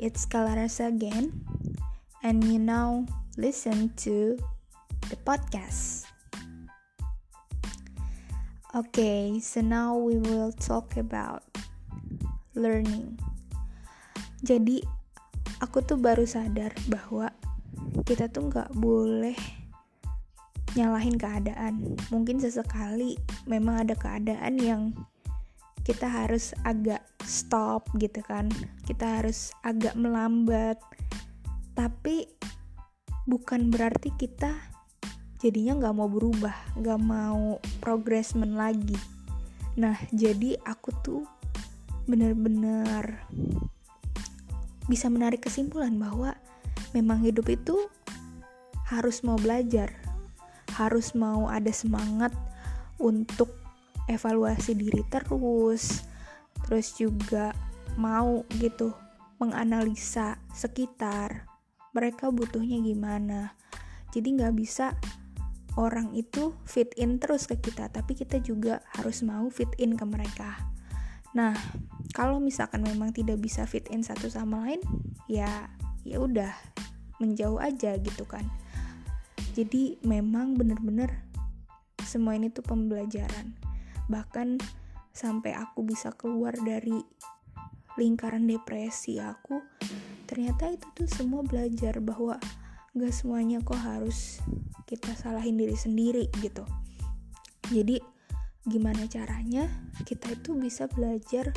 it's Kalarasa again, and you now listen to the podcast. Okay, so now we will talk about learning. Jadi, aku tuh baru sadar bahwa kita tuh gak boleh nyalahin keadaan. Mungkin sesekali memang ada keadaan yang kita harus agak stop gitu kan, kita harus agak melambat, tapi bukan berarti kita jadinya gak mau berubah, gak mau progresmen lagi. Nah, jadi aku tuh benar-benar bisa menarik kesimpulan bahwa memang hidup itu harus mau belajar, harus mau ada semangat untuk evaluasi diri terus juga mau gitu menganalisa sekitar, mereka butuhnya gimana. Jadi gak bisa orang itu fit in terus ke kita, tapi kita juga harus mau fit in ke mereka. Nah, kalau misalkan memang tidak bisa fit in satu sama lain, ya udah menjauh aja gitu kan. Jadi memang benar-benar semua ini tuh pembelajaran. Bahkan sampai aku bisa keluar dari lingkaran depresi aku, ternyata itu tuh semua belajar bahwa gak semuanya kok harus kita salahin diri sendiri gitu. Jadi gimana caranya kita itu bisa belajar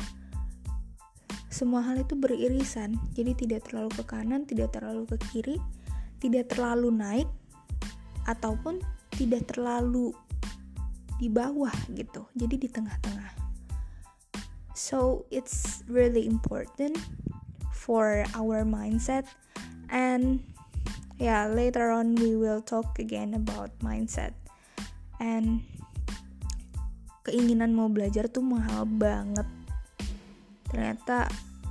semua hal itu beririsan. Jadi tidak terlalu ke kanan, tidak terlalu ke kiri, tidak terlalu naik, ataupun tidak terlalu di bawah gitu, jadi di tengah-tengah. So it's really important for our mindset, and later on we will talk again about mindset. And keinginan mau belajar tuh mahal banget. Ternyata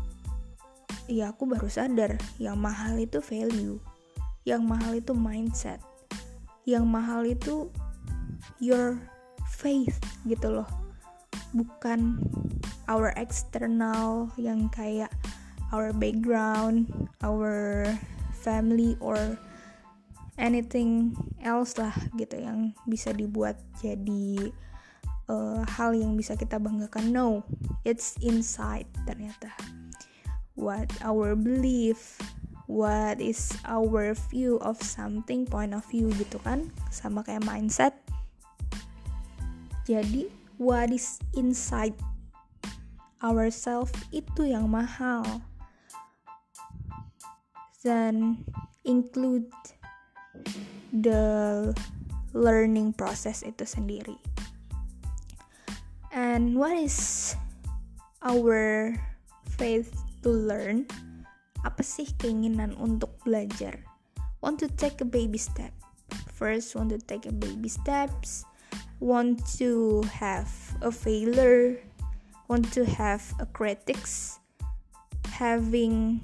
aku baru sadar yang mahal itu value, yang mahal itu mindset, yang mahal itu your faith gitu loh, bukan our external yang kayak our background, our family or anything else lah gitu yang bisa dibuat jadi hal yang bisa kita banggakan. No, it's inside ternyata. What our belief, what is our view of something, point of view gitu kan, sama kayak mindset. Jadi what is inside ourselves itu yang mahal, dan include the learning process itu sendiri. And what is our faith to learn? Apa sih keinginan untuk belajar? Want to take a baby step. First, want to take a baby steps. Want to have a failure. Want to have a critics. Having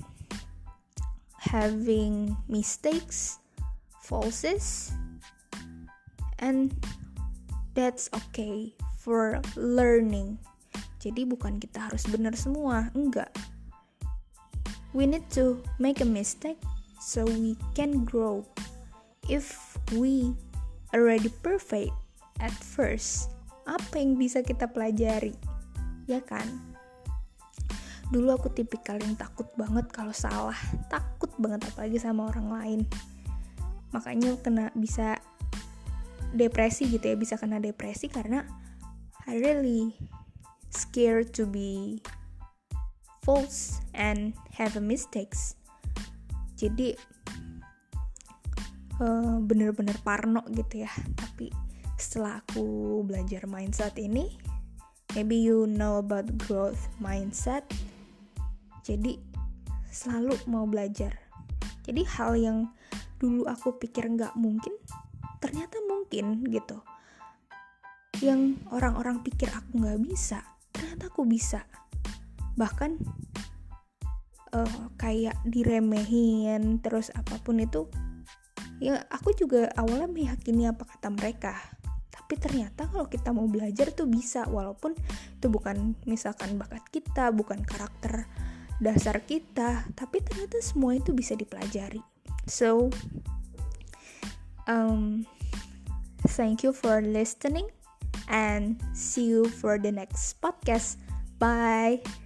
mistakes, falses. And that's okay for learning. Jadi bukan kita harus benar semua, enggak. We need to make a mistake so we can grow. If we already perfect at first, apa yang bisa kita pelajari? Ya kan? Dulu aku tipikal yang takut banget kalau salah, takut banget apalagi sama orang lain. Makanya bisa depresi gitu ya, bisa kena depresi karena I really scared to be false and have a mistakes. Jadi bener-bener parno gitu ya. Tapi setelah aku belajar mindset ini, maybe you know about growth mindset, jadi selalu mau belajar. Jadi hal yang dulu aku pikir gak mungkin, ternyata mungkin gitu. Yang orang-orang pikir aku gak bisa, ternyata aku bisa. Bahkan kayak diremehin terus apapun itu, ya aku juga awalnya meyakini apa kata mereka. Tapi ternyata kalau kita mau belajar tuh bisa, walaupun itu bukan misalkan bakat kita, bukan karakter dasar kita, tapi ternyata semua itu bisa dipelajari. So thank you for listening and see you for the next podcast. Bye.